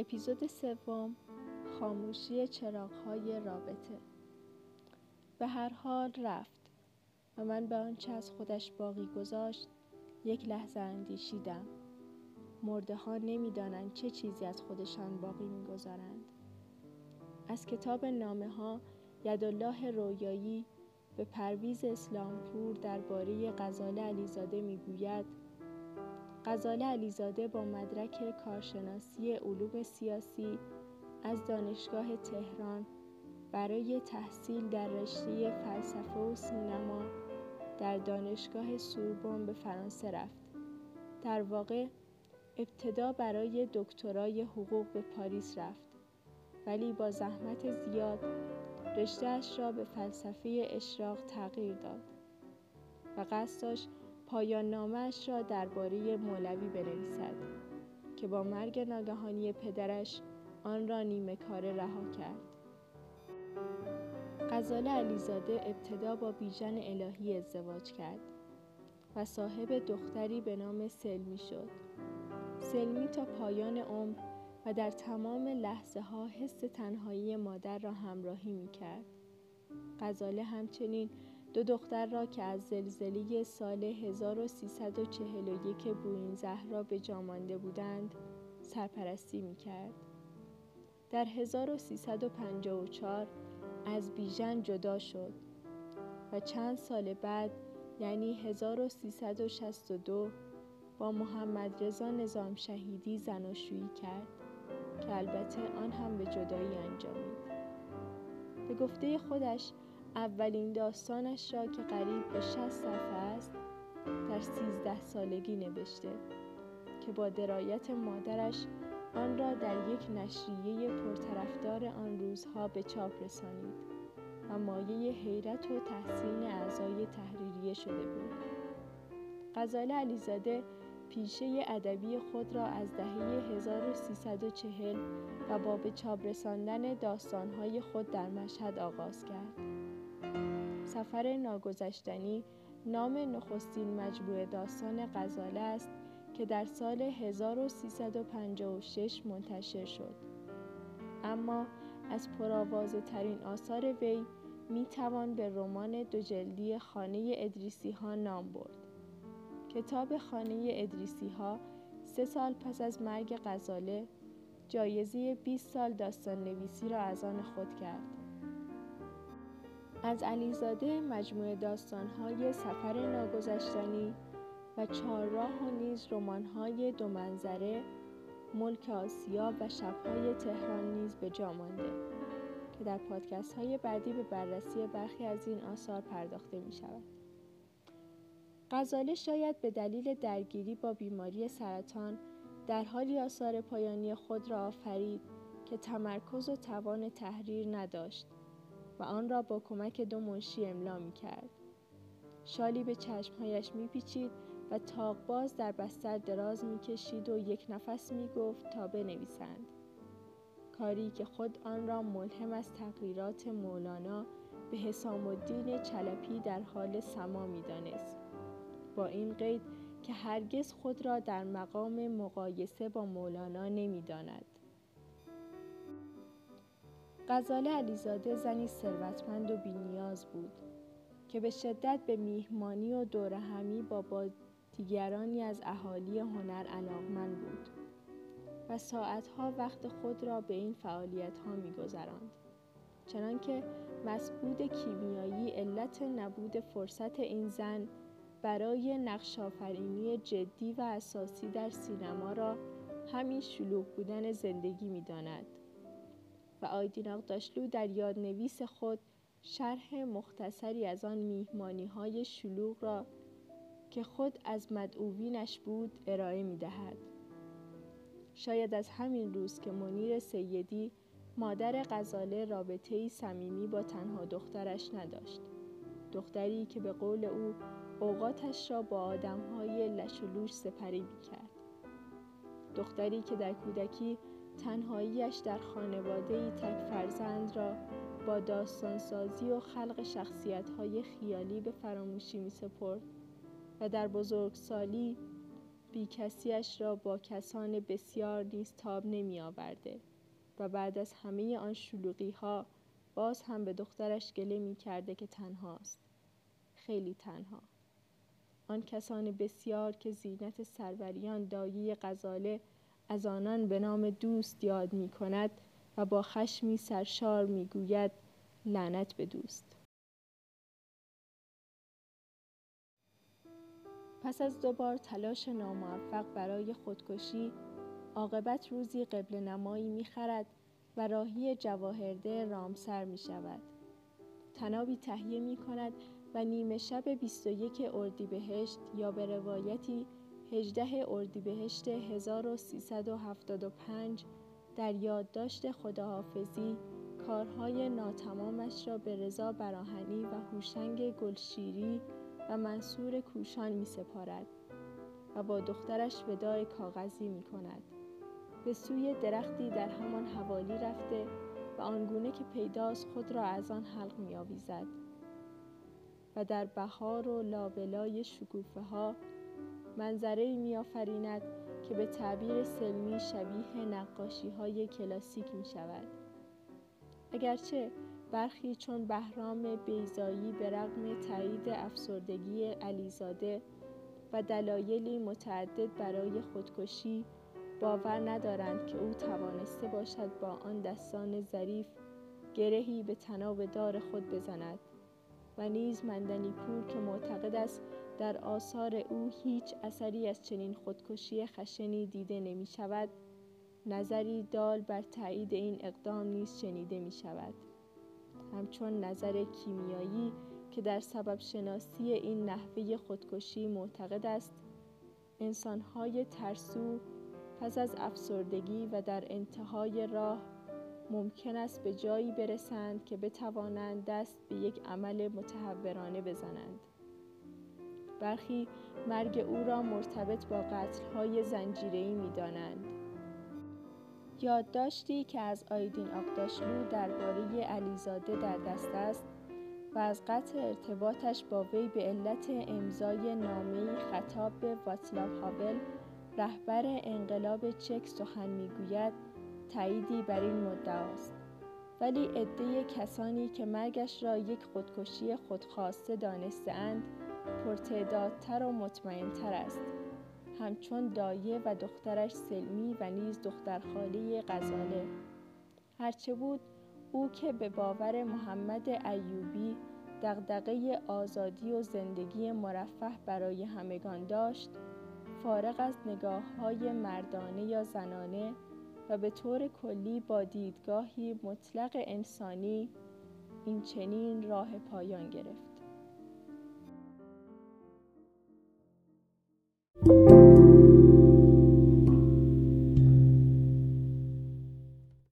اپیزود 3، خاموشی چراغ‌های رابطه. به هر حال رفت و من به آنچه از خودش باقی گذاشت یک لحظه اندیشیدم. مرده ها نمی‌دانند چه چیزی از خودشان باقی می‌گذارند. از کتاب نامه ها یدالله رویایی به پرویز اسلامپور درباره غزاله علیزاده میگوید: غزاله علیزاده با مدرک کارشناسی علوم سیاسی از دانشگاه تهران برای تحصیل در رشته فلسفه و سینما در دانشگاه سوربن به فرانسه رفت. در واقع ابتدا برای دکترای حقوق به پاریس رفت، ولی با زحمت زیاد رشته‌اش را به فلسفه اشراق تغییر داد و قصد داشت پایان نامه‌اش را درباره مولوی بنویسد که با مرگ ناگهانی پدرش آن را نیمه کاره رها کرد. غزاله علیزاده ابتدا با بیژن الهی ازدواج کرد و صاحب دختری به نام سلمی شد. سلمی تا پایان عمر و در تمام لحظه ها حس تنهایی مادر را همراهی می کرد. غزاله همچنین 2 دختر را که از زلزله سال 1341 بوئین‌زهرا به جا مانده بودند سرپرستی می کرد. در 1354 از بیژن جدا شد و چند سال بعد یعنی 1362 با محمدرضا نظامشهیدی زناشویی کرد که البته آن هم به جدایی انجامید. به گفته خودش اولین داستانش را که قریب به 60 صفحه است در 13 سالگی نوشته که با درایت مادرش آن را در یک نشریه پرطرفدار آن روزها به چاپ رسانید و مایه حیرت و تحسین اعضای تحریریه شده بود. غزاله علیزاده پیشه ادبی خود را از دهه 1340 و با به چاپ رساندن داستان‌های خود در مشهد آغاز کرد. سفر ناگذشتنی نام نخستین مجموعه داستان غزاله است که در سال 1356 منتشر شد. اما از پرآوازه ترین آثار وی می توان به رمان 2 جلدی خانه ادریسی ها نام برد. کتاب خانه ادریسی ها 3 سال پس از مرگ غزاله جایزه 20 سال داستان نویسی را از آن خود کرد. از علیزاده مجموعه داستان‌های سفر ناگذشتنی و 4 راه و نیز رمان‌های 2 منظره، ملک آسیا و شب‌های تهران نیز به جا مانده که در پادکست‌های بعدی به بررسی برخی از این آثار پرداخته می‌شود. غزاله شاید به دلیل درگیری با بیماری سرطان در حالی آثار پایانی خود را آفرید که تمرکز و توان تحریر نداشت و آن را با کمک 2 منشی املا می‌کرد. شالی به چشمهایش می‌پیچید و طاق‌باز در بستر دراز می‌کشید و یک نفس می‌گفت تا بنویسند. کاری که خود آن را ملهم از تقریرات مولانا به حسام الدین چلپی در حال سما می‌دانست، با این قید که هرگز خود را در مقام مقایسه با مولانا نمی‌داند. غزاله علیزاده زنی ثروتمند و بی‌نیاز بود که به شدت به میهمانی و دورهمی با دیگرانی از اهالی هنر علاقمند بود و ساعتها وقت خود را به این فعالیت‌ها می‌گذراند، چنانکه مسعود کیمیایی علت نبود فرصت این زن برای نقش‌آفرینی جدی و اساسی در سینما را همین شلوغ بودن زندگی می‌داند و آیدین آغداشلو در یادنویس خود شرح مختصری از آن میهمانی‌های شلوغ را که خود از مدعوینش بود ارائه می‌دهد. شاید از همین روز که منیر سیدی مادر غزاله رابطه‌ای صمیمی با تنها دخترش نداشت، دختری که به قول او اوقاتش را با آدم‌های لش و لوش سپری می‌کرد، دختری که در کودکی تنهاییش در خانواده‌ای تک فرزند را با داستانسازی و خلق شخصیت‌های خیالی به فراموشی می‌سپرد و در بزرگسالی بی‌کسی‌اش را با کسان بسیار نیز تاب نمی‌آورده و بعد از همه آن شلوغی‌ها باز هم به دخترش گله می‌کرده که تنهاست، خیلی تنها. آن کسان بسیار که زینت سروریان دایه غزاله از آنان به نام دوست یاد می‌کند و با خشمی سرشار می‌گوید لعنت به دوست. پس از 2 بار تلاش ناموفق برای خودکشی، عاقبت روزی قبله نمایی می‌خرد و راهی جواهرده رامسر می‌شود. طنابی تهیه می‌کند و نیمه شب 21 اردیبهشت یا به روایتی 18 اردیبهشت 1375 در یادداشت خداحافظی کارهای ناتمامش را به رضا براهنی و هوشنگ گلشیری و منصور کوشان می‌سپارد و با دخترش وداع کاغذی می‌کند. به سوی درختی در همان حوالی رفته و آنگونه که پیداست خود را از آن حلق می‌آویزد و در بهار و لابلای شکوفه‌ها منظره‌ای می‌آفریند که به تعبیر سلمی شبیه نقاشی‌های کلاسیک می‌شود. اگرچه برخی چون بهرام بیضایی به رغم تایید افسردگی علیزاده و دلایلی متعدد برای خودکشی باور ندارند که او توانسته باشد با آن دستان ظریف گرهی به طناب دار خود بزند و نیز مندنی‌پور که معتقد است در آثار او هیچ اثری از چنین خودکشی خشنی دیده نمی شود، نظری دال بر تایید این اقدام نیز شنیده می شود. همچون نظر کیمیایی که در سبب شناسی این نحوه خودکشی معتقد است انسان‌های ترسو پس از افسردگی و در انتهای راه ممکن است به جایی برسند که بتوانند دست به یک عمل متهورانه بزنند. برخی مرگ او را مرتبط با قتل‌های زنجیره‌ای می‌دانند. یادداشتی که از آیدین آغداشلو درباره علیزاده در دست است و از قطع ارتباطش با وی به علت امضای نامه‌ای خطاب به واچلاو هاول رهبر انقلاب چک سخن می‌گوید، تأییدی بر این مدعاست. ولی عده کسانی که مرگش را یک خودکشی خودخواسته دانسته‌اند پرتعدادتر و مطمئن‌تر است، همچون دایه و دخترش سلمی و نیز دخترخاله غزاله. هرچه بود او که به باور محمد ایوبی دغدغه آزادی و زندگی مرفه برای همگان داشت، فارغ از نگاه‌های مردانه یا زنانه و به طور کلی با دیدگاهی مطلق انسانی، این چنین راه پایان گرفت.